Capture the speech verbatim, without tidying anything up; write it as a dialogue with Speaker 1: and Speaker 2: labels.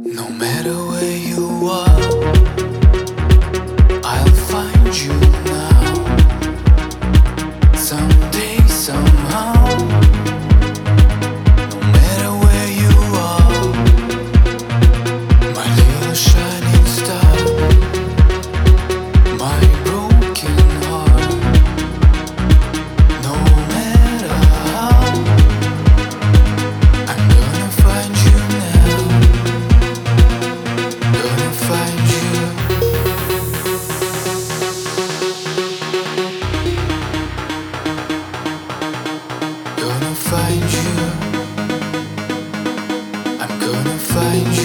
Speaker 1: No matter where you are, I'll find you now. Someday, somehow. No matter where you are, my little shining star, my broken heart. No matter how, I'm gonna find you now. Gonna find you. Gonna find you. I'm gonna find you.